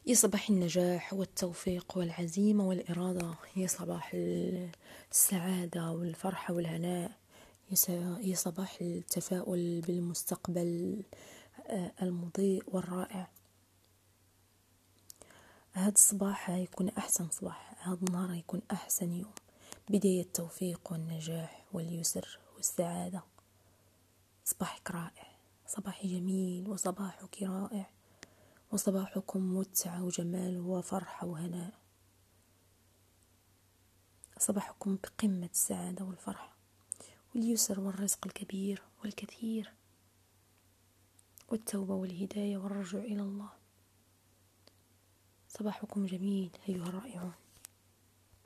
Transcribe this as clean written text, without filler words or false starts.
يا صباح النجاح والتوفيق والعزيمة والإرادة، يا صباح السعادة والفرحة والهناء، يا صباح التفاؤل بالمستقبل المضيء والرائع. هذا الصباح يكون أحسن صباح، هذا النهار يكون أحسن يوم، بداية التوفيق والنجاح واليسر والسعادة. صباحك رائع، صباحي جميل وصباحك رائع، وصباحكم متعة وجمال وفرحة وهناء. صباحكم بقمة السعادة والفرحة واليسر والرزق الكبير والكثير والتوبة والهداية والرجوع إلى الله. صباحكم جميل أيها الرائعون.